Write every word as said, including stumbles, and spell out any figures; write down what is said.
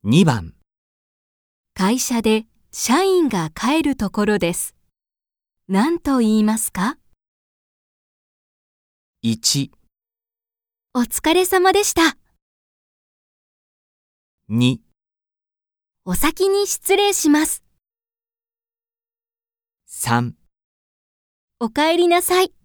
にばん、 会社で社員が帰るところです。何と言いますか？ いち、 お疲れ様でした。 に、 お先に失礼します。 さん、 お帰りなさい。